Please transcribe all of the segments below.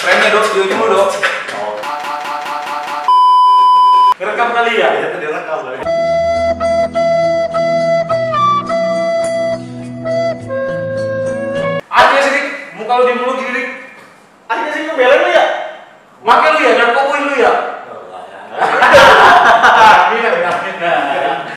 Remnya dok, di ujung dok. Ngerekam kali ya? Ya tadi rekam kali. Aja sih, muka lu di mulut gini dik. Akhirnya sih ngebelain lu ya? Makai lu ya, narkoboy lu ya. Mina.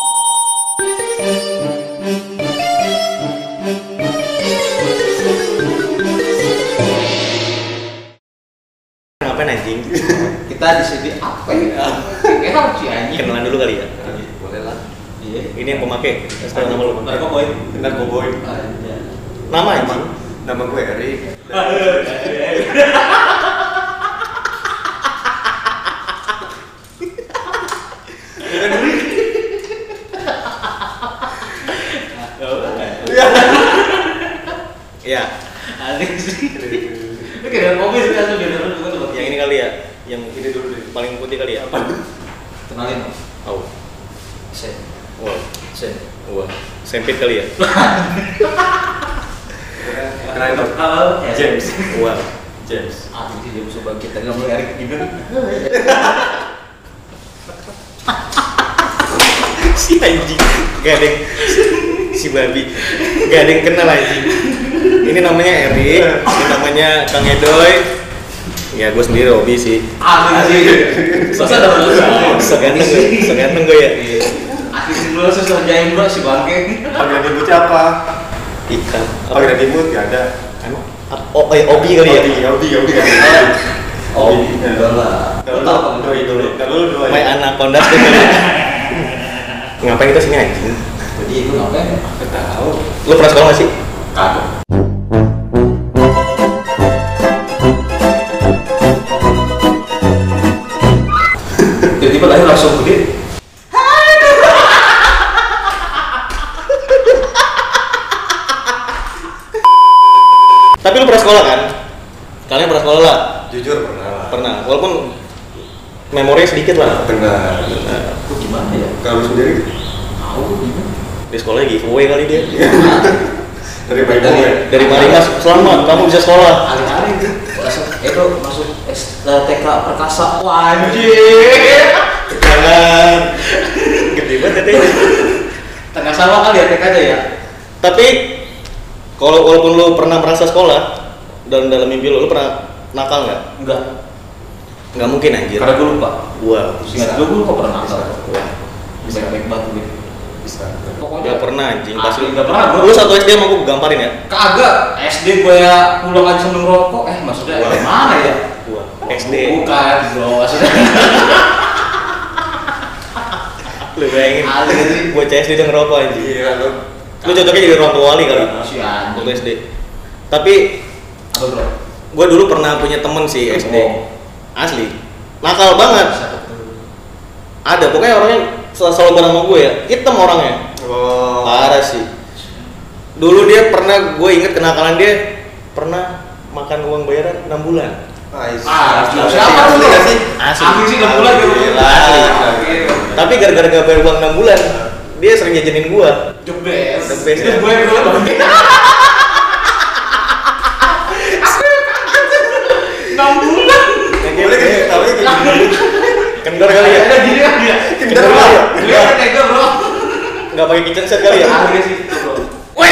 Ngapain anjing? Kita di sini apa ya? Enak sih anjing. Kenalan dulu kali ya? Boleh lah. Iya. Ini yang pemakai. Sekarang nama lu. Narkoboy. Narkoboy. Nama anjing? Nama gue Erik. Iya. Aneh sih. Itu kayak narkoboy sih langsung jadi narkoboy. Yang ini kali ya? Yang ini dulu deh. Paling putih kali ya? Apa? Kenalin dong. Oh. Sen. Wow. Sen. Wah. Sempit kali ya? Kenalin dong. Halo. James. Wow. James. Ah, ini dia musuh bangkit. Tadi ngomong Erik juga. Si anjing. Gak ada yang si babi. Gak ada yang kenal anjing. Ini namanya Erik. Ini namanya Kang Edoy. Ya gue sendiri Robi sih. Ah, sih. Masa ada masalah. Seganteng gue ya. Akhirnya dulu susah jaim bro si bangke. Panggilan ibu siapa? Ikan. Panggilan ibu gak ada. Emang? Oh, Obi kali ya? Obi. Oh, enggak lah. Doi dulu. Kalau lu doi. My Anaconda tuh. Ngapain kita sini anjing? Jadi itu ngapain? Gak tahu. Lu pernah sekolah gak sih? Kagak. Tiba-tiba lahir langsung gede. Tapi lu pernah sekolah kan? Kalian pernah sekolah lah? Jujur pernah. Pernah, walaupun memorinya sedikit lah. Benar. Itu gimana ya? Kalau lu sendiri Tahu gimana? Di sekolah giveaway kali dia. dari baik gue. Dari Marimas, selamat kamu bisa sekolah. Hari-hari itu masuk TK Perkasa. Wah, anjir. Jangan. Gede banget katanya. Tengah sama kali ya TK aja ya. Tapi kalau walaupun lu pernah merasa sekolah dan dalam mimpi lu pernah nakal nggak? Enggak. Nggak mungkin anjir. Karena gue lupa. Wow. Ingat gue kok pernah nakal. Wah. Baik-baik banget gitu. Bisa. Pokoknya Nggak pernah anjing. Pas lu nggak pernah. Lu satu SD sama gue gamparin ya? Kagak. SD gue ya pulang aja sambil ngerokok. Maksudnya Wah. mana ya? Wah. SD. Bukan, bro. Maksudnya. Lu bayangin. Asli sih. Gue SD udah ngerokok anjing. Iya lu. Lu cocoknya jadi orang tua wali kali. Si anjing. Waktu SD. Tapi Apa bro? gue dulu pernah punya temen sih SD. Oh. Asli. Nakal banget. Ada pokoknya orangnya selalu bareng sama gue ya. Hitam orangnya. Oh. Parah sih. Dulu dia pernah, gue inget kenakalan dia pernah makan uang bayaran 6 bulan. Siapa tuh? Sih? Asli sih 6 bulan gitu. Asli. Tapi gara-gara gak bayar uang 6 bulan, dia sering jajanin gue. The best. The best, Itu ya. gue dulu bang. 6 bulan. Boleh kan kita tahu Kendor kali ya? Ada gini kan dia. Kendor kali ya? Dia kan tega bro. Gak pakai kitchen set kali ya? Asli sih bro. Weh!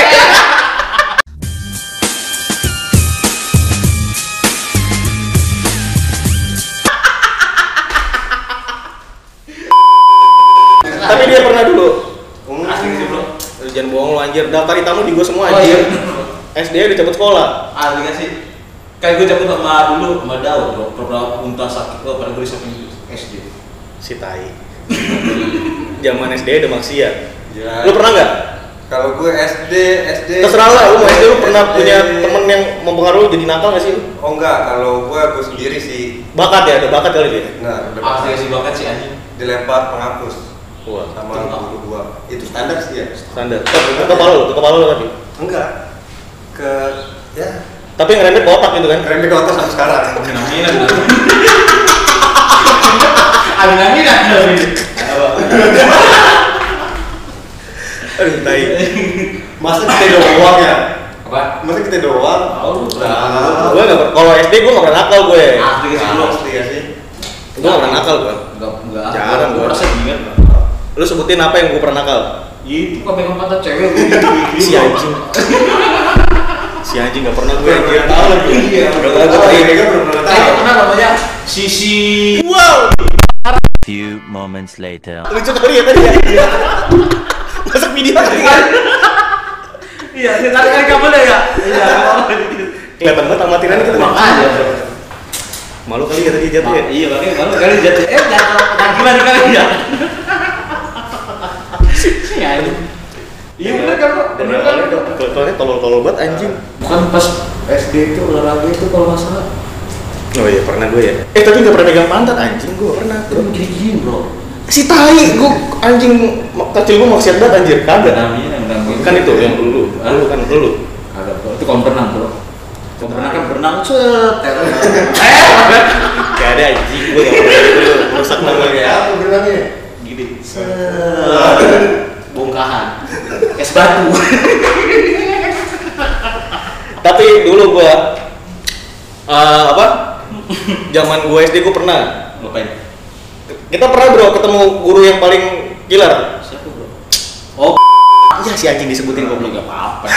Tapi dia pernah dulu. Asli sih bro. Jangan bohong lu anjir, daftar tamu di gua semua Oh iya. anjir. SD udah cabut sekolah. Asli gak sih? Kayak gue cabut sama dulu sama Daud bro. Pernah unta sakit pada gue disapin SD. Si tai. Zaman SD udah maksiat. Ya. Lu pernah nggak? Kalau gue SD. Terserah lah, lu mau SD lu pernah punya temen yang mempengaruhi jadi nakal nggak sih lu? Oh enggak, kalau gue sendiri sih. Bakat ya, ada bakat kali dia. Nah, Asli sih banget sih anjing. dilempar penghapus Wah, sama guru gua. Itu standar sih ya. standar. Ke kepala lu tadi. Enggak. Ke ya Tapi yang ngerembet ke otak gitu kan? remeh ke otak sampai sekarang. Amin. Aduh, tai. Masa kita udah uang ya? Apa Apa? Masa kita doang? Tahu lu pernah Nah. Gue nggak kalau SD gue nggak pernah nakal gue. asli ke sih lu. Pasti ya sih. Gue nggak pernah nakal gue. Enggak. Jarang Gua gua. rasa ingat. Lu sebutin apa yang gue pernah nakal? Itu kan pegang pantat cewek Si anjing. Si anjing nggak pernah gue. Gue nggak tahu lagi. Iya. Nggak pernah gue. Oh, mereka belum pernah tahu. Pernah namanya Sisi. Wow. Few moments later. Lucu kali ya tadi ya. Masuk video tadi kan. Iya, tarik kabel ya. Iya. Kelihatan banget amatiran gitu. Makanya. Malu kali ya tadi jatuh ya. Iya, makanya malu kali jatuh. Jangan gimana kali ya. Iya. Iya bener kan, Bro? Bener kan? Soalnya tolol-tolol banget anjing. Bukan pas SD itu olahraga itu kalau nggak salah. Oh iya pernah gue ya. Tapi nggak pernah megang pantat anjing gue pernah. Itu gini-gini bro. Si tai gue anjing kecil gue maksiat banget anjir kagak. Namanya Kan itu yang dulu kan dulu. Ada bro. Itu kolam renang bro. Kolam renang kan berenang cet. Gak ada anjing gue gak pernah itu rusak nama Ya, apa bilangnya? Gini. Bongkahan. Es batu. Tapi dulu gue apa? Zaman gue SD gue pernah. Ngapain? Kita pernah bro ketemu guru yang paling killer. Siapa bro? Oh. Iya si anjing disebutin Belum goblok. gak apa-apa.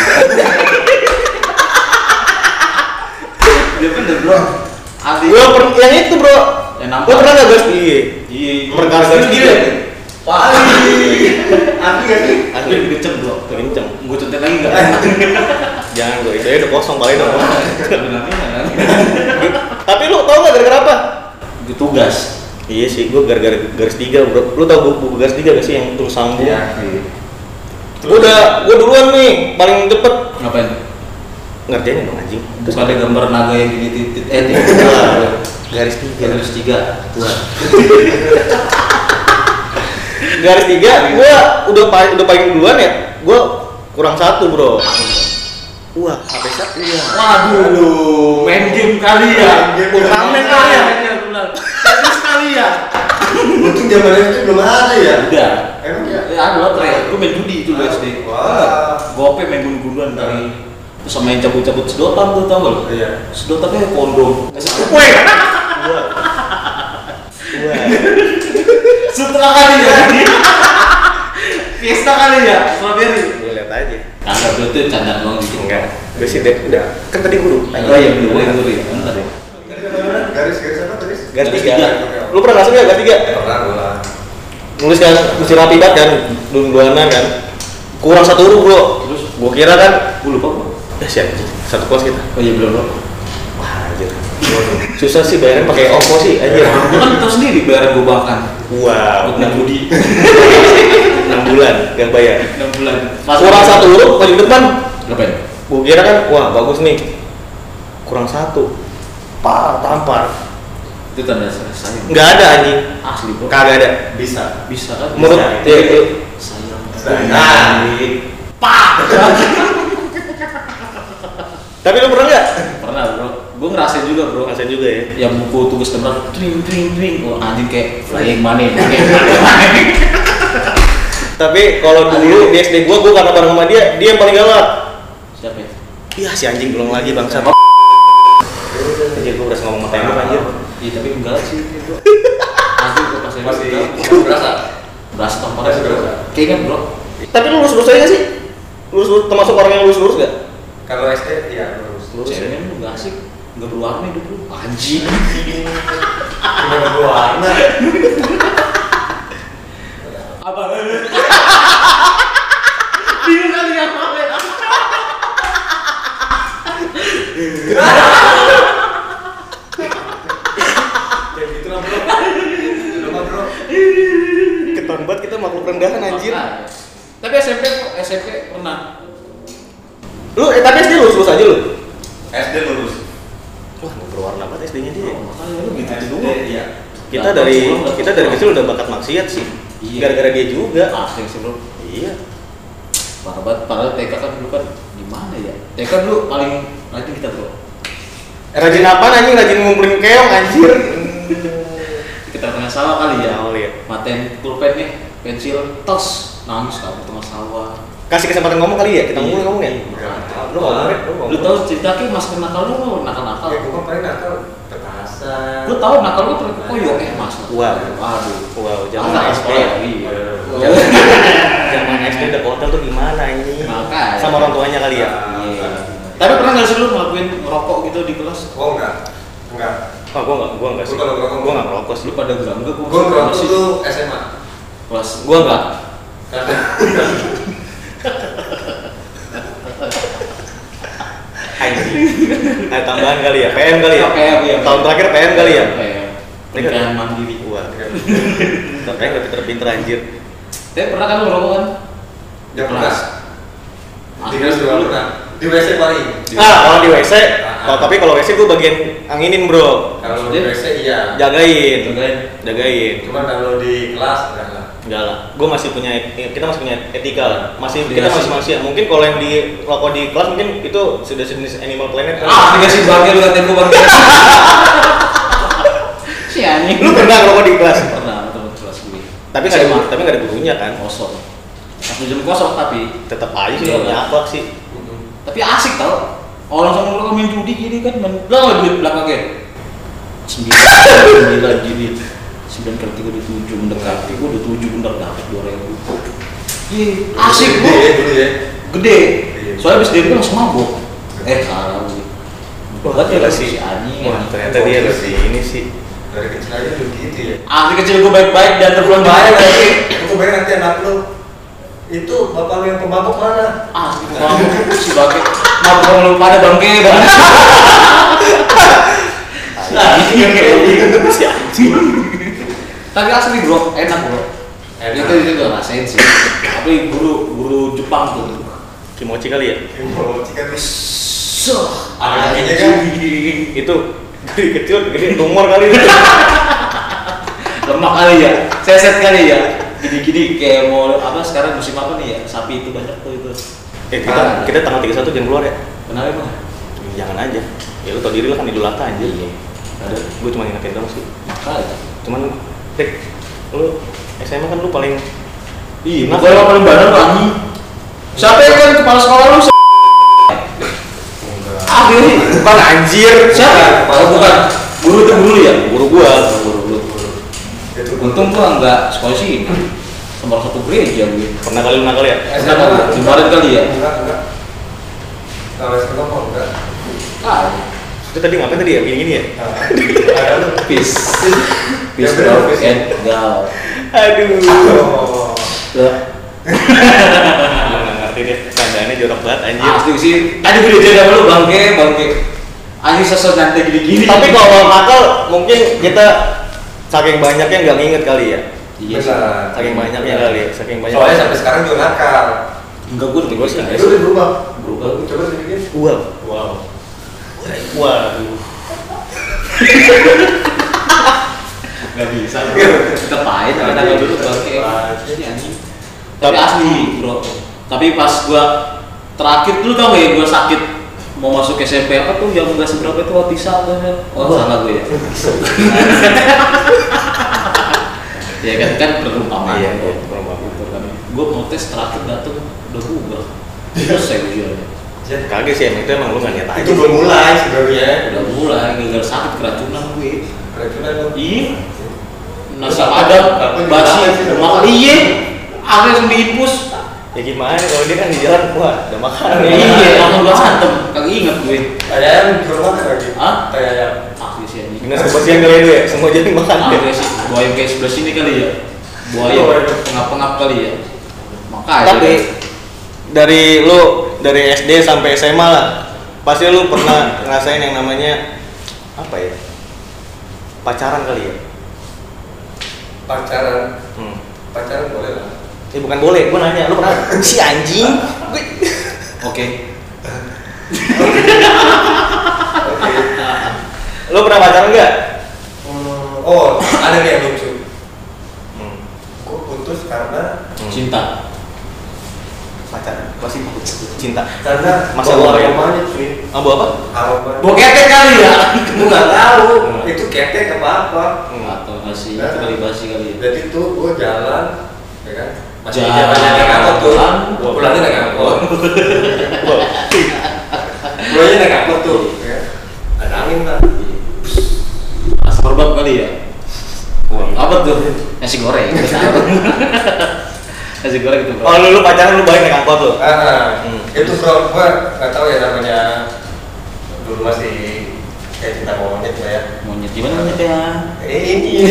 Dia bener bro. Asli. Gue pernah yang itu bro. Yang nampak. Gue pernah gak guys? Iya. Iya. Perkara garis tiga. Wah. Anti gak sih? Asli lebih kenceng bro. Kenceng. Gue contek lagi nggak? Jangan bro, itu aja udah kosong paling dong. Benar. Tapi lu tau gak gara-gara apa? Itu tugas. Iya sih, gue gara-gara garis tiga bro. Lu tau buku garis tiga gak sih yang tulis sambung? Iya. Gue duluan nih, paling cepet Ngapain? ngerjain dong anjing. Terus ada gambar naga yang gini titit Garis tiga. garis tiga. Tuh. Garis tiga, gue udah paling duluan ya. Gue kurang satu bro. Wah, HP saya. Iya. Waduh, main game kali ya. Ultraman kali ya. Teknis kali ya. Untung zaman itu belum ada ya. Udah. Emang ya? Ya ada lotre. Gue main judi itu dulu SD. Wah. Gope main gunduan kali. Terus sama main cabut-cabut sedotan tuh tau gak lo? Iya. Sedotannya kondom. Weh. Wah. Setelah kali ya. Fiesta kali ya, strawberry. Gue lihat aja. Kagak bro itu candaan doang gitu. Enggak. Gue sih udah. Kan tadi guru. Oh iya bener ya. Bentar ya. Garis apa garis? Garis Garis tiga. tiga. Lu pernah ngasih nggak garis tiga? Pernah gua. Nulis kan mesti rapi banget kan, duluanan kan. Kurang satu huruf bro. Terus Gue kira kan. gue lupa bro. Siap. Satu kelas kita. Oh iya belum bro. Wah anjir. Susah sih bayaran pakai OVO sih anjir. Gue kan tahu sendiri bayaran gue bahkan. Wow. Buat main judi. 6 bulan gak bayar. 6 bulan. Kurang satu huruf paling depan. Ngapain? Gue kira kan, wah bagus nih. Kurang satu. Tampar. Itu tanda sayang. Nggak ada anjing. Asli bro. Kagak ada. Bisa. Bisa kan? Menurut Bisa. ya, Sayang. Nah. tapi lu pernah nggak? Pernah bro. Gue ngerasain juga bro. Rasain juga ya. Yang buku tugas tebal tring. Oh anjing kayak flying money. Kayak money. Tapi kalau dulu di SD gua karena bareng sama dia yang paling galak. Siapa ya? Iya si anjing belum lagi bangsa. Anjir gua berasa ngomong sama tembok anjir. Iya tapi enggak sih itu. Asli gue pas Masih berasa. Berasa tamparnya Masih berasa. Kayaknya bro. Tapi lu lurus aja sih? Lurus termasuk orang yang lurus gak? Kalau SD ya lurus. Ceweknya lu nggak asik. Nggak berwarna hidup lu. Anjing. Cuma berwarna. Apa? Bingung kali ya. Kayak gitu lah bro. Udah mah bro. Ketahuan banget kita makhluk rendahan anjir. Tapi SMP pernah. Lu tapi SD lurus aja lu. SD lurus. Wah, nggak berwarna banget SD-nya dia. Makanya lu gitu SD dulu. iya. Kita dari kecil udah bakat maksiat sih. Iya. Gara-gara dia juga. Asli sih bro. Iya. Parah banget. Padahal TK kan dulu kan gimana ya? TK dulu paling rajin kita bro. Rajin apa anjing? Rajin ngumpulin keong anjir. Kita tengah sawah kali ya. Oh iya. Maten pulpen nih, pensil, tos, nangis kabur tengah sawah. kasih kesempatan ngomong kali ya, kita ngomong ya. Lu ngomong ya, Lu tahu cerita ki mas nakal lu nakal. Ya, gue kan paling nakal petasan. Lu tahu nakal lu terus koyo mas. Wow. Aduh. Zaman Anak SD. sekolah iya. Zaman SD udah hotel tuh gimana ini? Makanya. Sama orang tuanya kali ya. Iya. Tapi pernah nggak sih lu ngelakuin ngerokok gitu di kelas? Oh enggak. Oh, gua enggak sih. Lu kalau ngerokok, Gua enggak ngerokok sih. Lu pada enggak Gue ngerokok tuh SMA. kelas. Gua enggak. Karena Ada tambahan kali ya, PM kali ya. PM, iya. Tahun terakhir PM kali ya. Pernikahan mandiri. Wah. Tapi enggak pinter-pinter anjir. Tapi pernah kan lu ngerokok kan? ya pernah. Di kelas juga pernah. Di WC paling. Kalau di WC, tapi kalau WC gua bagian anginin, Bro. Kalau di WC iya. Jagain. Cuma kalau di kelas enggak lah. Enggak lah, kita masih punya etika lah. Kita Dikasih. masih manusia. Mungkin kalau yang di rokok di kelas mungkin itu sudah sejenis Animal Planet. Dikasih bangke lu ngatain gua bangke. Si anjing. Lu pernah rokok di kelas? Pernah temen kelas gue. Tapi nggak ada gurunya kan? Kosong. Pas jam kosong tapi Tetap aja sih Iya. punya akhlak sih. tapi asik tau. Orang sama lu main judi gini kan main belakang duit belakangnya. 9 gini. 9 kali 3 udah 7 mendekati. Gua udah 7 bener dapat 2.000. Iya, asik Dulu gua. ya, dulu ya. Gede. Soalnya abis dari itu langsung mabuk. Salah gue. Wah, gila si sih. anjing. Wah, ternyata dia loh sih ini sih. Dari kecil aja udah gitu ya. Asli kecil gue baik-baik dan terpulang Baik baik. lagi. Aku bayar nanti anak lu. Itu bapak lu yang pemabuk mana? Asli mabuk si bangke. Mabuk sama lu pada bangke banget. Anjing kayak gitu si anjing. Tapi asli bro, enak bro. Itu juga rasain sih. Tapi guru Jepang tuh. Kimochi kali ya? Mau cikan nih. Ada kakinya kan? Itu dari kecil gede tumor kali itu. Lemak kali ya, seset kali ya. Gini-gini kayak mau apa sekarang musim apa nih ya? Sapi itu banyak tuh itu. Kita tanggal 31 jangan keluar ya? Kenapa emang? Jangan aja. Ya lu tau diri lah kan Idul Adha aja. Iya. Ada, gue cuma ingetin dong sih. Makanya. Cuman, lu SMA kan lu paling Iya, bukan yang paling badan lu anjing. Siapa yang kan kepala sekolah lu? bukan anjir. Siapa? Bukan. Guru itu guru ya? Guru gua. Guru. Untung gua enggak sekolah sih. Sama satu gereja gue. Pernah kali lu nakal ya? Kenapa? Kemarin kali ya? Enggak. Kalau sekolah kok enggak. Itu tadi ngapain tadi ya? Gini-gini ya? Ada lu. Peace Ya, bener, bro peace. and gal. Aduh. Oh. Nggak ngerti deh. Candaannya jorok banget anjir. Asli sih. Tadi gue dijaga sama lu bangke. Anjing sosok nanti gini-gini. Tapi kalau nakal mungkin kita saking banyaknya nggak nginget kali ya. iya sih. Benar. Saking banyaknya kali ya. Saking banyak. Soalnya sampai sekarang juga nakal. Enggak gue Gua sih Itu udah berubah. Berubah. Coba sedikit. Wow. Waduh. Gak bisa. Kita pahit karena kalau dulu bangke. Ini anjing. Tapi asli bro. Tapi pas gua terakhir dulu tau gak ya gua sakit mau masuk SMP apa tuh yang enggak seberapa itu Watisa kan? Oh salah gue ya. Ya kan perumpamaan. Iya, Bro. perumpamaan. Gitu kan. Gua mau tes terakhir datang udah bubar. Selesai ujiannya. Kaget sih emang itu emang lu nggak niat aja. Itu belum mulai sebenarnya. Udah mulai gara-gara sakit keracunan gue. Keracunan lu. Iya. Nasi padang, basi, makan iya. Aku langsung diinfus. Ya gimana kalau dia kan di jalan, wah udah makan. Iya, langsung gak santem. Kagak inget gue. Kayak ayam di rumah kan lagi. Hah? Kayak ayam. Asli sih anjing. Dinas kebersihan kali itu ya, semua jadi makan. Ada sih buaya kayak sebelah sini kali ya. Buaya pengap-pengap kali ya. Makanya. Tapi dari SD sampai SMA lah, pasti lu pernah ngerasain yang namanya apa ya? Pacaran kali ya? Pacaran. Hmm. Pacaran boleh lah. Bukan boleh, gua nanya, lu pernah? Si anjing. Oke. Oke. Lu pernah pacaran nggak? Oh, ada nih yang lucu. Hmm. Gue putus karena Cinta. Pacaran, pasti cinta. karena Masa bawa lalu ya? aromanya cuy. Abu apa? Aroma. Bokete kali ya. Gue nggak tahu itu ketek apa apa. Atau basi, itu kali basi kali ya. Jadi tuh gue jalan, ya kan? Masih Jalan. jalan naik angkot tuh. Gue pulangnya naik Pulangnya naik angkot tuh, ya. Ada angin kan? Asap perbab kali ya. Apa tuh? Nasi goreng. Nasi goreng itu bro. Oh lu pacaran lu balik naik angkot lu? Itu bro, gua nggak tahu ya namanya dulu masih kayak cinta monyet lah ya. Monyet gimana monyet ya? Ini.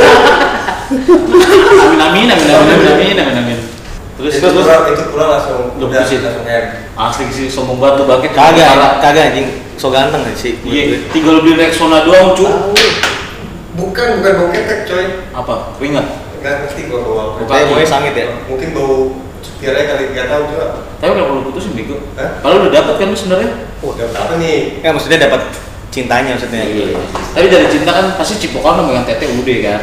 Amin. Terus itu pulang langsung lu udah putusin. langsung end. Asli sih sombong banget tuh bangkit. Kagak anjing. So ganteng kan sih. Iya, tinggal beli Rexona doang cu. Bukan bokep coy. Apa? Keringat? Nggak ngerti gua bawa apa. Kayak maunya sangit ya. Mungkin bau supirnya kali nggak tahu juga. Tapi kalau lu putusin bego. Hah? Kalau udah dapat kan lu sebenarnya. Dapat apa nih? Ya maksudnya dapat cintanya maksudnya. Iya. Tapi dari cinta kan pasti cipokan sama yang tete udah kan.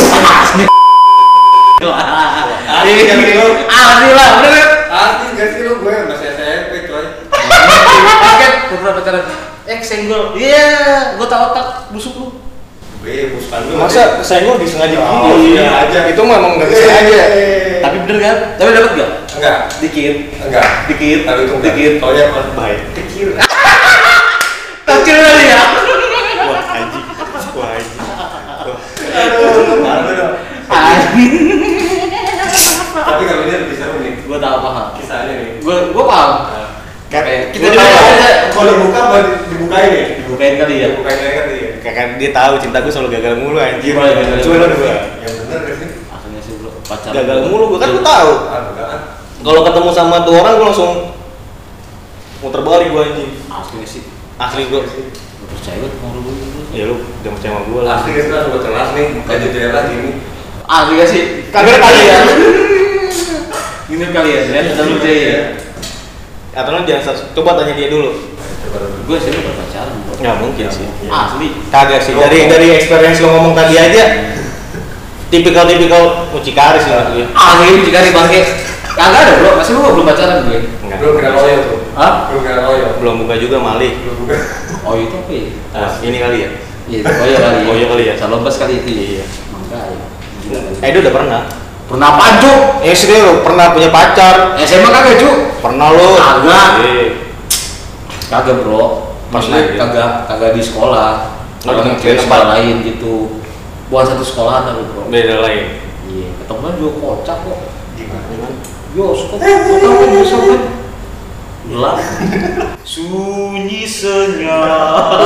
Asli kan sih lu? Asli lah, bener kan? Asli nggak sih lu? Gue masih SMP coy. Paket beberapa pacaran. Senggol. Iya, gua tahu otak busuk lu. Gue bukan lu. Masa senggol disengaja Oh, gitu? iya aja. Itu memang nggak disengaja. Tapi bener kan? Tapi dapat enggak? Enggak. Dikit. Enggak. Dikit. Tapi itu enggak. Dikit. Taunya apa? Baik. Kecil. Kecil kali ya. Wah anjing. Wah anjing. Aduh, malu dong. Anjing. Tapi kalau dia lebih seru nih. Gua tahu paham. Kisahnya nih. Gua paham. Kayak Kita juga aja. kalau dibuka mau dibukain ya? Dibukain kali ya. Dibukain aja kan dia. Kayak dia tahu cintaku selalu gagal mulu anjir. Gimana gagal? Coba lu gua. Yang bener gak sih? Akhirnya sih bro pacaran. Gagal mulu gua kan gua tahu. Enggak kan? Kalau ketemu sama tuh orang gua langsung muter balik gua anjing. Asli sih. Asli gua. Gua percaya banget mau lu. Ya lu jangan percaya sama gua lah. Asli kan sudah buat kelas nih, buka jendela lagi nih. Asli gak sih? Kagak kali ya. Ini kali ya, dan kita lu ya. Atau lu jangan coba tanya dia dulu. Gue sih udah pacaran bro. Nggak mungkin sih. Asli. Kagak sih. Dari experience lo ngomong tadi aja. Tipikal mucikari sih menurut gue. Asli jika bangke. Kagak ada bro, masih lu belum pacaran gue. Enggak. Belum kena loyo tuh. Hah? Belum kena loyo. Belum buka juga malih. Belum buka. Oh itu apa ya? Ini kali ya. Iya, oh iya kali ya. Calon bas kali itu. Iya. Makanya. Gila kali. Edo udah pernah. Pernah apaan Cuk? SD lo pernah punya pacar? SMA kagak Cuk? Pernah lo? Kagak. Iya. Kagak bro. Maksudnya Pernah, kagak di sekolah. Orang Beda di sekolah lain gitu. Bukan satu sekolahan tapi bro. Beda lain. Iya, ketemuan juga kocak kok. Gimana? Bioskop, kau tahu kan bioskop kan? Gelap. Sunyi senyap.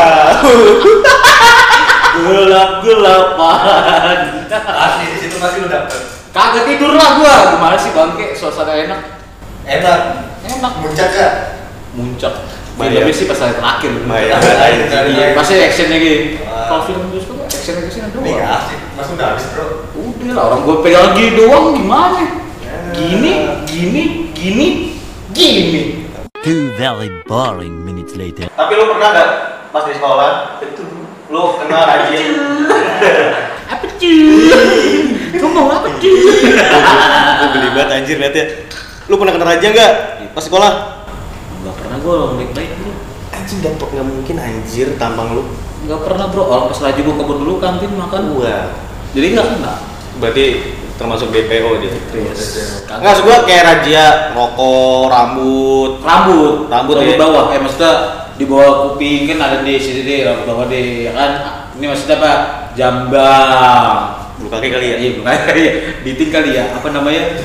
Gelap-gelapan. Asli di situ pasti lu dapet. Kagak tidur lah gua. Gimana sih bangke? Suasana enak. Enak. Enak. Muncak gak? Muncak. Bayar. Filmnya sih pas hari terakhir. Bayar. Iya, pasti actionnya gitu. Wah. Kalau film bioskop actionnya kesini Ini gak doang. asik. Mas udah habis bro. Udah lah, orang gua pegang gini doang gimana? Gini. 2 very boring minutes later. Tapi lu pernah nggak pas di sekolah? Lu kenal rajin? Apa cuy? Kamu mau apa cuy? Gue geli banget anjir liatnya. Lu pernah kenal Raja nggak pas sekolah? Enggak pernah gua orang baik-baik bro. Anjing gampang nggak mungkin anjir tampang lu. Enggak pernah bro, orang pas lagi gua kebun dulu kantin makan. Wah. Jadi enggak kena. Berarti termasuk DPO dia. Yes. Enggak, maksud gua kayak razia rokok, rambut. Rambut ya. di bawah. Maksudnya di bawah kuping kan ada di sini deh, rambut bawah deh, ya kan. Ini maksudnya apa? Jambang. Bulu kaki kali ya? Iya, bukan ya. Diting kali ya. Apa namanya?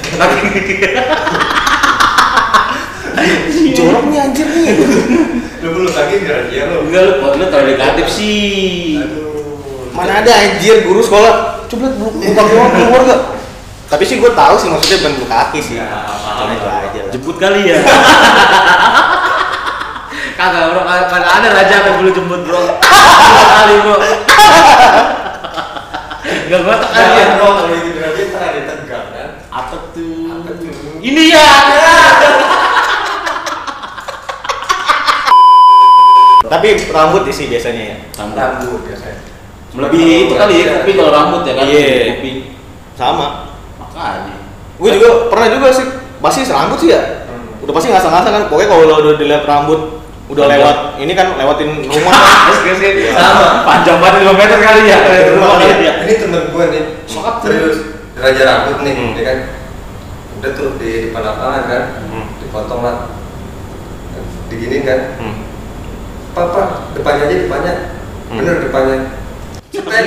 Jorok nih anjir nih. Lu belum lagi dia lu. Enggak lu terlalu negatif sih. Aduh. Mana ada anjir guru sekolah. Coba bulu kaki orang keluar gak? Tapi sih gua tahu sih maksudnya bukan bulu kaki sih. Cuma itu aja lah. Jemput kali ya. Kagak bro, kagak ada raja yang bulu jemput bro. Kali bro. Enggak gua tak Jangan aja. bro, kalau itu berarti ntar ada tegang kan? Apa tuh? Apa tuh? Ini ya. Tapi rambut sih biasanya ya. Rambut biasanya. Lebih itu kali ya kuping kalau rambut ya kan. Iya. Kuping. Sama. Makanya. Gue juga pernah juga sih. Pasti rambut sih ya. Udah pasti ngasal-ngasal kan. Pokoknya kalau udah dilihat rambut udah lewat ini kan lewatin rumah kan. Iya. Sama. Panjang banget 5 meter kali ya. Rumah kali ya. Ini temen gue nih, Sokap serius raja rambut nih, Hmm. ya kan? Udah tuh di depan lapangan kan, Hmm. di dipotong lah, diginin kan. Papa, depannya aja depannya, bener depannya. Cetek.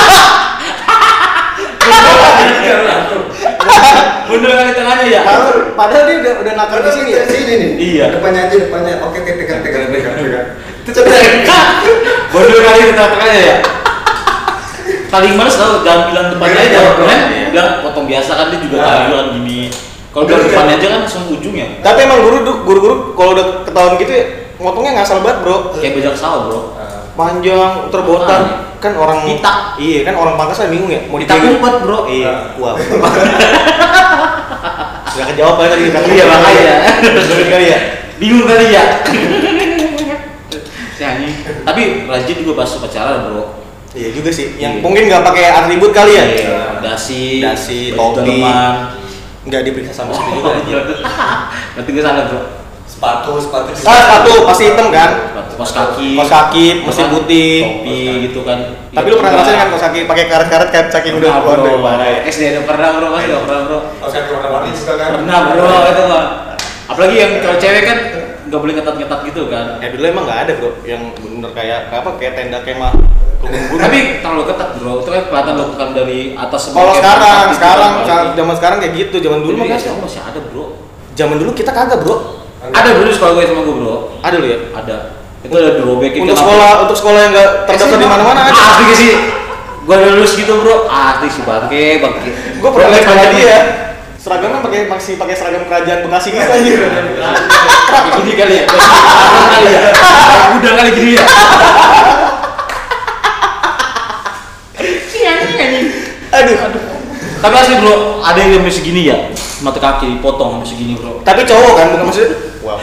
Bener kali tengahnya ya. Padahal dia udah nakal di sini ya. Sini nih. Iya. Depannya aja depannya. Oke, pegang. Cetek. Bener kali tengahnya ya. Paling males tau, jangan bilang depannya aja, kan? Bilang potong biasa kan dia juga tayuan gini. Kalau bilang depannya aja kan langsung ujungnya. Tapi emang guru-guru kalau udah ketahuan gitu ya, motongnya ngasal banget bro. Kayak bajak sawah bro. Panjang, terbotan. Kan orang Pitak. Iya kan orang Pangkas kan bingung ya. Mau Pitak dipegang. umpet bro. Iya. Wah. Sudah kejawab aja tadi. Iya makanya. Bener kali ya. Bingung kali ya. Si anjing. Tapi rajin juga pas upacara bro. Iya juga sih. Iya. Yang mungkin nggak pakai atribut kali ya. Iya. Dasi, topi. daleman. Nggak diperiksa sama sekali juga aja. Nanti gue salah bro. Sepatu. Sepatu pasti hitam kan. Kos kaki, mesin putih, topi gitu kan. Tapi lu pernah ngerasain kan kaos kaki pakai karet-karet kan saking udah keluar dari parah ya? SD ada pernah bro, masih pernah bro. Kaos kaki warna-warni juga kan. Pernah bro, itu mah. Apalagi yang kalau cewek kan nggak boleh ngetat-ngetat gitu kan. Dulu emang nggak ada bro, yang bener kayak kayak tenda kemah. Tapi terlalu ketat bro, itu kan kelihatan lo bukan dari atas. Kalau zaman sekarang kayak gitu, zaman dulu mah kan masih ada bro. Zaman dulu kita kagak bro. Ada dulu sekolah gue sama gue bro. Ada lu ya? Ada. Itu ada dirobekin. Untuk sekolah yang nggak terdaftar di mana-mana ada. Asli sih. Gue lulus gitu bro. Asli sih bangke. Gue pernah lihat sama dia. Seragamnya masih pakai seragam kerajaan Bekasi gitu anjir. Gini kali ya. Kali ya. Udah kali gini ya. Aduh. Tapi asli bro, ada yang masih gini ya. Mata kaki dipotong masih gini bro. Tapi cowok kan bukan maksudnya. Wow.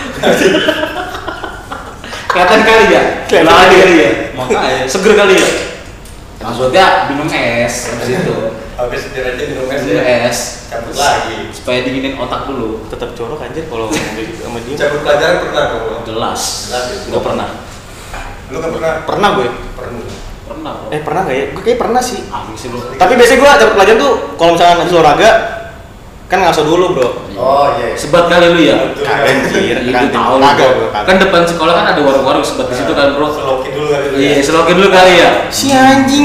Kelihatan kali ya? Kelihatan kali ya? Makanya seger kali ya? Maksudnya minum es habis itu. Habis dirajin minum es Minum ya. es. Cabut lagi. Supaya dinginin otak dulu. Tetap jorok anjir kalau ngomong gitu sama dia. Cabut pelajaran pernah dong lo? Jelas. Jelas ya. Enggak pernah. Lu kan pernah? Pernah gue. Pernah. Pernah bro. Pernah nggak ya? Gue kayak pernah sih. Asli sih bro. Tapi biasanya gue cabut pelajaran tuh kalau misalnya habis olahraga kan ngaso dulu bro. Oh iya. Sebat kali lu ya? Kagak anjir. Itu tahu lu, Kagak bro. bro. Kan depan sekolah kan ada warung-warung sebat di situ kan bro. Selokin dulu kali lu. Iya, selokin dulu kali ya. Si anjing.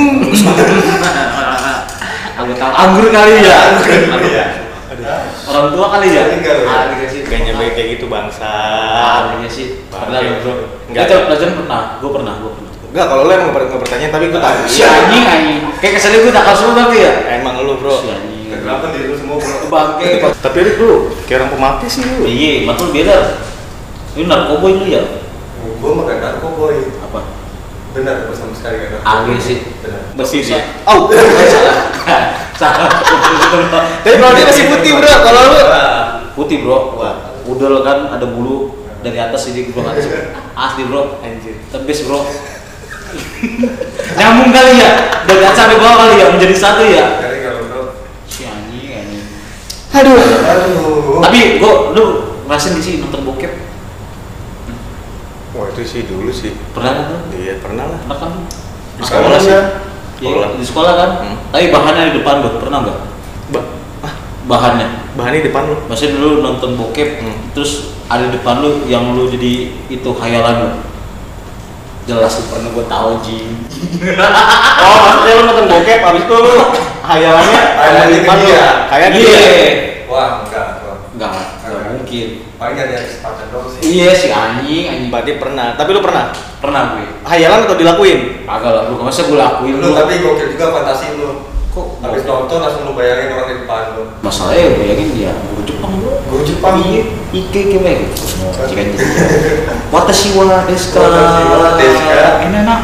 Aku tahu anggur kali ya. Iya. Orang tua kali ya. Enggak, bro. Iya sih. Gak nyampe kayak gitu bangsa. Iya sih. Pernah lu bro. Enggak. Itu pelajaran pernah. Gue pernah. Enggak, kalau lu emang nggak bertanya tapi gue tahu. Si anjing. Kayak kesannya gue takal semua tapi ya. Emang lu bro. Si anjing. Kenapa diri lu semua bro? Bangke. Tapi lu kayak orang pemati sih lu. Iya, matul beda. Ini narkoboy lu ya? Gua mah gak narkoboy. Apa? Benar, gua sama sekali gak narkoboy. Angin sih. Benar. Bersih Bisa. dia. Oh. Salah. Tapi kalau dia masih putih bro, kalau lu Putih bro. Wah. Udel kan ada bulu dari atas ini bro atas. Asli bro. anjir. Tebes bro. Nyambung kali ya. Dari atas sampai bawah kali ya menjadi satu ya. Dari kalau bro. Si anjing. Aduh. Aduh. Tapi lu ngerasain di sini nonton bokep? Wah itu sih dulu sih. Pernah kan tuh? Iya pernah lah. Pernah kan? Di sekolah sih. Iya, di sekolah kan? Tapi bahannya di depan lu, pernah nggak? Bahannya? Bahannya di depan lu. Maksudnya dulu nonton bokep, terus ada di depan lu yang lu jadi itu khayalan lu. Jelas lu pernah gua tahu Ji. Oh maksudnya lu nonton bokep, abis itu lu hayalannya Hayalannya di depan ke lu. dia. Kayak Iya. dia. Wah, enggak. Enggak mungkin. Paling ada kesempatan dong sih. Iya si anjing. Berarti pernah. Tapi lu pernah? Pernah gue. Hayalan atau dilakuin? Agak lah, lu masa gue lakuin Lu tapi gokil juga fantasi lu. Kok Habis nonton langsung lu bayangin orang di depan lu. masalahnya gue yakin dia guru Jepang bro. Guru Jepang. Iya, Ike keme gitu. Jika jadi. Watashi wa desu ka? Watashi wa desu ka? Ini enak.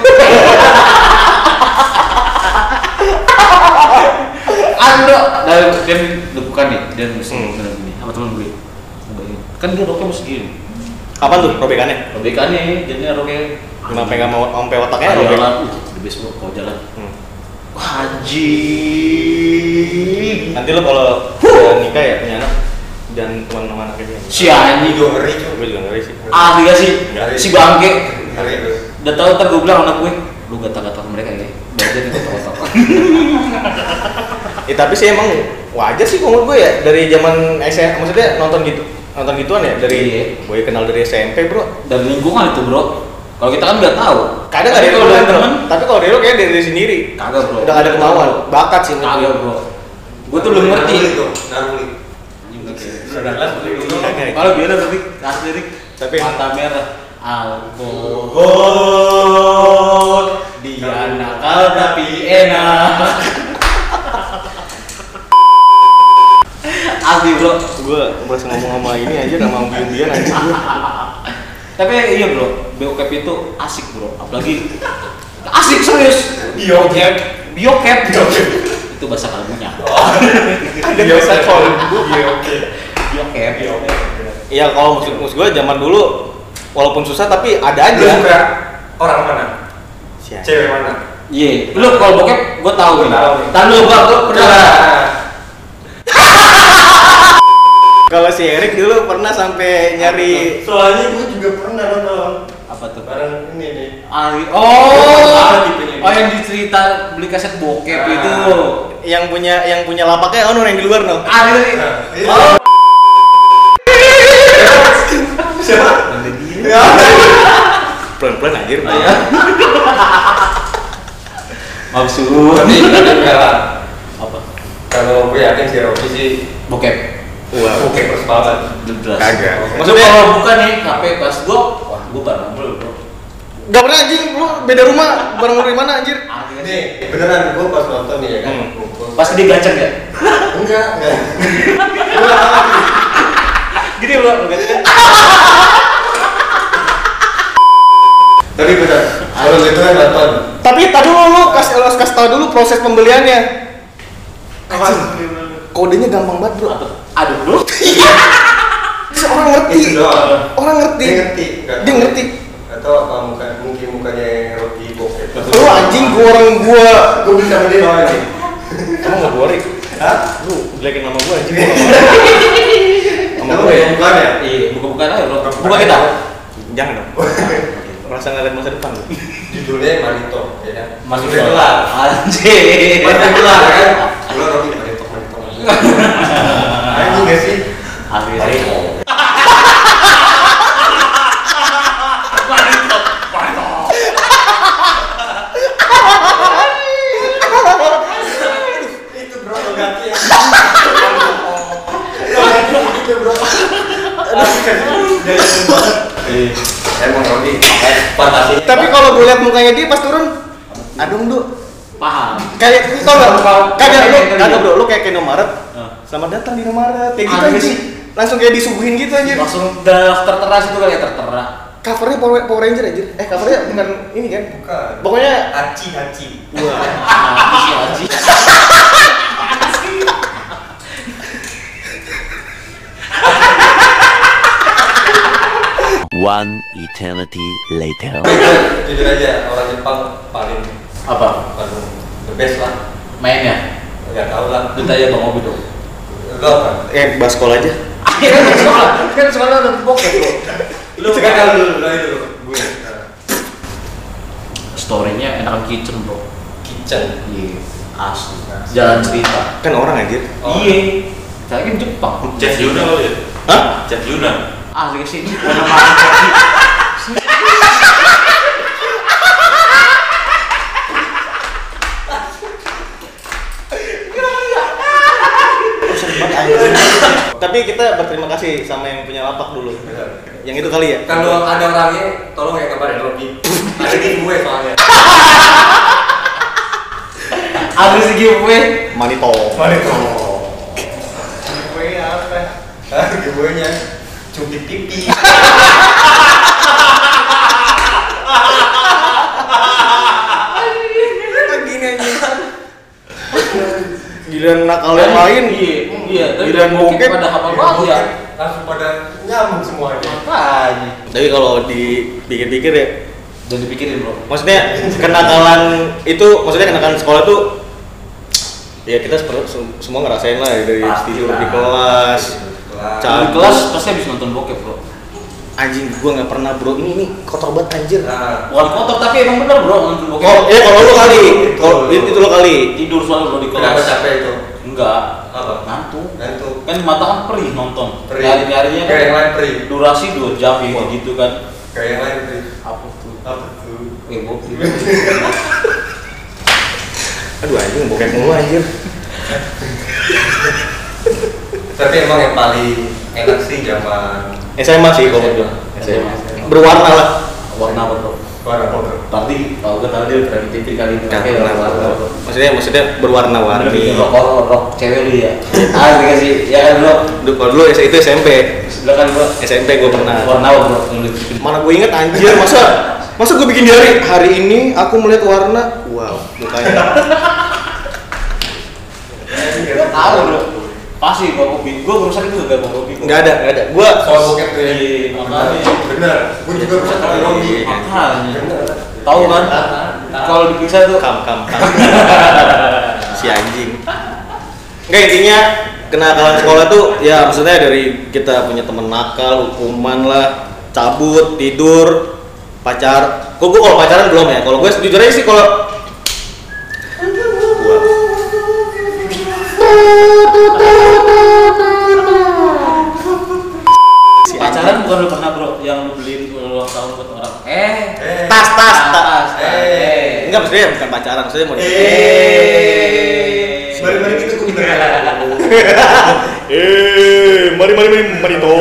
Ando, dan bukan nih, dan mesti benar gini. Apa teman gue? Kan dia roknya mesti gini. Kapan tuh robekannya? Robekannya, jadinya roknya. Sampai nggak mau sampai otaknya robek. Jalan, the best bro kalau jalan. Haji. Nanti lo kalau udah nikah ya punya anak dan teman-teman anaknya dia. Si anjing. Juga ngeri cuy. Gue juga ngeri sih. Asli gak sih? Ngeri. Si bangke. Ngeri lu. Udah tau ntar gue bilang anak gue, lu gata-gata mereka ya. Belajar itu otak-otak. Tapi sih emang wajar sih menurut gue ya dari zaman SMA maksudnya nonton gitu. nonton gituan ya dari gue kenal dari SMP bro. Dari lingkungan itu bro. Kalau kita kan nggak tahu. Kadang ada kalau dari temen, tapi kalau dari lo kayak dari sendiri. kagak bro. Udah gak ada kemauan, bakat sih. Kagak bro. Gue tuh belum ngerti. Kalau gimana berarti asli Rik? Tapi mata merah. Alkohol dia nakal tapi enak. Asli bro. Gue merasa ngomong sama ini aja sama bian aja. Tapi iya bro, biokep itu asik bro, apalagi asik serius. Biokep. Itu bahasa kalbunya. Ada bahasa kalbu. Biokep. Iya kalau musik gue zaman dulu walaupun susah tapi ada aja. Lu suka orang mana? Siapa? Cewek mana? Iya, lu kalau bokep gue tahu nih. Tahu gue pernah. Kalau si Erik dulu pernah sampai nyari. Soalnya gue juga pernah nonton. Apa tuh? Bareng ini nih. Oh yang dicerita beli kaset bokep itu. Yang punya lapaknya orang yang di luar no. Siapa? Pelan-pelan anjir. Maksud. Tapi enggak lah. Apa? Kalau gue yakin si Robi sih Bokep. Wah. oke persepakat. Kagak. Maksudnya Maksudnya kalau bukan nih HP pas gua, wah gua bareng bro. Gak pernah anjing, lu beda rumah, bareng lu di mana anjir? Nih, beneran gue pas nonton nih ya kan. Pas dia gaceng ya? Enggak. Gini bro, gaceng. Tapi bener, kalau gitu kan nonton. Tapi tadi lu kasih tau dulu proses pembeliannya. Kodenya gampang banget bro. Aduh bro. Orang ngerti. Itu doang. Orang ngerti. Dia ngerti. Atau apa mungkin mukanya Robi bokep. Lu anjing gua Gue bisa sama dia doang nih. Kamu nggak boleh. Hah? Lu jelekin nama gua anjing. Sama Kamu gue ya? bukan ya? Iya, bukan aja bro. Bukan kita. Jangan dong. Merasa nggak lihat masa depan lu. Judulnya Manito, ya kan? Masuk Udah kelar. Anjir. Udah kelar kan? Gue Robi Manito. Anjing gak sih? Akhirnya. Itu bro, lo ganti ya. Itu bro. Emang Robi, fantasinya. Tapi kalau gue lihat mukanya dia pas turun, adung tuh. Paham. Kayak tau gak? Kagak bro, lu kayak Indomaret. Selamat datang di Indomaret. Kayak gitu anjing. Langsung kayak disuguhin gitu anjir. Langsung udah tertera situ kali ya, tertera. Covernya Power Ranger anjir. Covernya bukan ini kan? Bukan. Pokoknya Hachi. wah. Anjir. One eternity later. Jujur aja, orang Jepang paling Apa? the best lah. Mainnya? Gak tau lah. Lu tanya Bang Obi dong. Lo apa? Bahas sekolah aja. Kan sekolah udah bokep bro. Lu sekarang dulu itu gue. Story-nya enakan kitchen bro. Kitchen. Iya. Asli. Jalan cerita. Kan orang anjir. Oh. Iya. Saya kan Jepang. Chef Yuna lo ya? Hah? Chef Yuna. Asli kesini. Tapi kita berterima kasih sama yang punya lapak dulu. Yang itu kali ya. Kalau ada orangnya, tolong ya kabarin Robi. Ada di gue soalnya. Abis giveaway. Manito. Gue apa? Gue nya cubit pipi. Gini aja. Giliran nakal yang lain. Iya. Giliran bokep pada hafal banget ya. Langsung pada nyambung semuanya. Makanya. Tapi kalau dipikir-pikir ya, Dan dipikirin bro. maksudnya kenakalan itu, maksudnya kenakalan sekolah tuh ya kita semua ngerasain lah ya, dari tidur di kelas, Di kelas pasti habis nonton bokep bro. anjing gua nggak pernah bro, ini kotor banget anjir. Nah, Bukan kotor tapi emang bener bro nonton bokep. Oh ya kalau lu kali, kalau itu lo kali. Tidur soalnya bro di kelas. kenapa capek itu? Enggak. Apa? Ngantuk. Ngantuk. kan mata kan perih nonton. Perih. Hari-harinya Kayak yang lain perih. durasi 2 jam ya gitu kan. Kayak yang lain perih. Apa tuh? Apa tuh? Bokep. Aduh anjing bokep mulu anjir. Tapi emang yang paling enak sih zaman SMA sih kalau menurut gua. SMA. Berwarna lah. Warna apa bro? warna foto. Tadi kalau gue tahu dia pernah di TV kali ini. Nah, Oke, warna. maksudnya berwarna-warni. Bikin rok cewek lu ya. Ah, dikasih ya kan bro. Kalau dulu itu SMP. Sebelah kan bro. SMP gue pernah. Warna apa bro? Mana gue inget anjir, masa gue bikin diary hari ini aku melihat warna, wow, mukanya. Tahu bro. Pasti bawa kopi. Gue barusan itu gak bawa kopi. Nggak ada. Gue Soal bokep tuh ya. Makanya. Bener. Gue juga bisa tahu Robi. Makanya. Bener. Tahu kan? Kalau diperiksa tuh kam. Si anjing. Nggak, intinya kenakalan sekolah tuh ya maksudnya dari kita punya temen nakal, hukuman lah, cabut, tidur, pacar. Gue kalau pacaran belum ya. Kalau gue jujur aja sih kalau pacaran bukan lu pernah bro yang lu beliin ulang tahun buat orang. tas. Enggak, Enggak, maksudnya bukan pacaran, maksudnya mau Mari kita gue bener. mari to.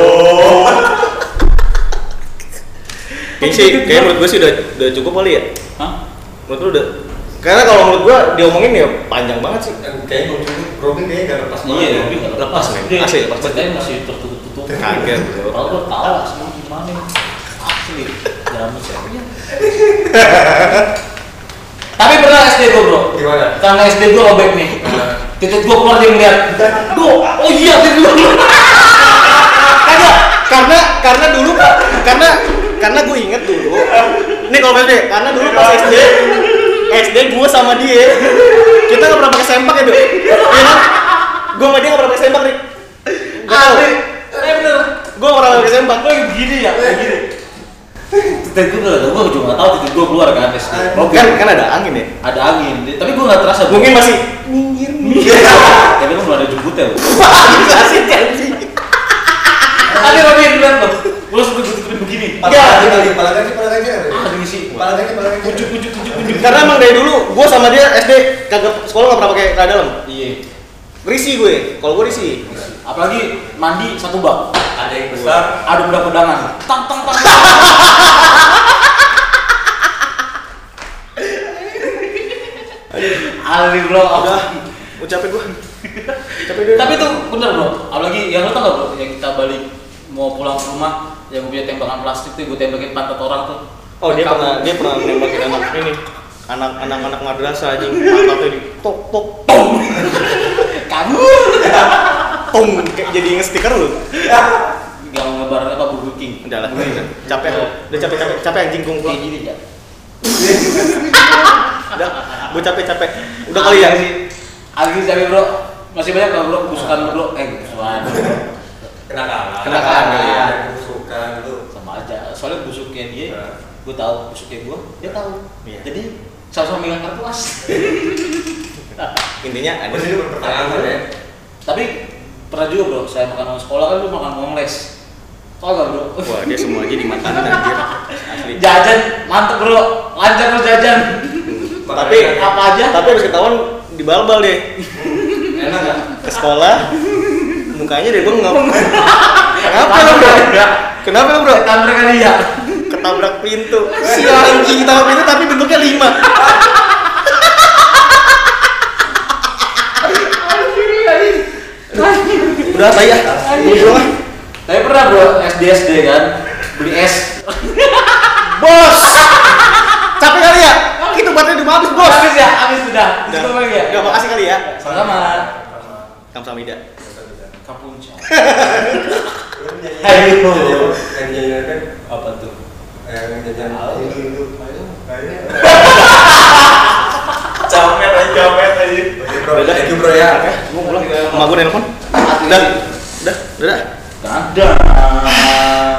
Kayaknya sih, kayak menurut gue sih udah cukup kali ya. Hah? Menurut lu udah? Karena kalau menurut gue diomongin ya panjang banget sih. Kayaknya gue cukup. Robin kayaknya gak lepas banget. Iya, ya. tapi nggak Lepas, men. Dia- Asli, lepas banget. ceritanya masih tertutup. Kaget, bro. Kalau gue tahu asli gimana. Asli. Jamus ya. Tapi pernah SD gue bro. Gimana? Karena SD gue robek nih. Titik gue keluar dia ngeliat. Oh iya titik gue. Karena dulu karena gue inget dulu. Ini kalau SD, karena dulu pas SD gue sama dia kita nggak pernah pakai sempak ya, Dok. Iya kan? Gue sama dia nggak pernah pakai sempak nih. Bener. Gue nggak pernah pakai sempak. Gue begini ya, begini. Titik gue juga nggak tahu titik gue keluar kan SD. Kan ada angin ya. Ada angin, tapi gue nggak terasa. Mungkin masih Tapi kan belum ada jemputnya. asik anjing. Ada lagi yang bilang tuh, gue langsung tutupin begini. Pala gaji. Ada ngisi. Pala gaji. Kujuk. Karena emang dari dulu gue sama dia SD kagak sekolah nggak pernah pakai celana dalam. Iya. Risih gue. Kalau gue risih. Apalagi mandi satu bak. Ada yang besar. Ada pedang-pedangan. Tang. Ali bro, Udah, mau capek gue. Capek dulu. Tapi itu bener bro, apalagi yang lo tau gak bro, yang kita balik mau pulang ke rumah, yang gue punya tembakan plastik tuh, gue tembakin pantat orang tuh. Oh dia pernah nembakin anak ini, anak madrasah aja, pantatnya di tok Kabur. tong kayak jadi nge-stiker lu. Gak mau ngebar apa Burger King. Udah lah, capek anjing Kayak gua. gini ya. Udah, gua capek. Udah kali ya. Lagi capek bro, masih banyak gak bro busukan bro? Busukan. Kenakalan kali ya. Busukan lu. Sama aja, soalnya busuknya dia, gue tahu busuknya gue, dia tahu. Iya. Jadi sama-sama megang kartu as. Intinya ada. Ini pertanyaan ya. Tapi pernah juga bro, saya makan uang sekolah kan lu makan uang les. Tau gak bro? Wah dia semua aja dimakanin anjir. Asli. Jajan mantep bro, lancar lu jajan. Tapi Apa aja? Tapi harus ketahuan di balbal deh. Enak gak? Ke sekolah mukanya deh bengap. Kenapa lo bro? Kenapa lo bro? Ketabrak kali ya. Ketabrak pintu. Si anjing ketabrak pintu tapi bentuknya 5. Udah saya. Tapi pernah bro, SD kan, beli es. Bos. Capek kali ya? Itu baterai udah habis, Bos. Habis sudah. Cukup lagi ya. Udah makasih kali ya. Sama. Kamsahamnida. Kapunca. Ayo. Ayo. Yang jajan kan? Apa tuh? Yang jajan Hindu. Jamet aja. Thank you bro ya. Gua pulang. Emak gua nelpon. Udah. Gak ada.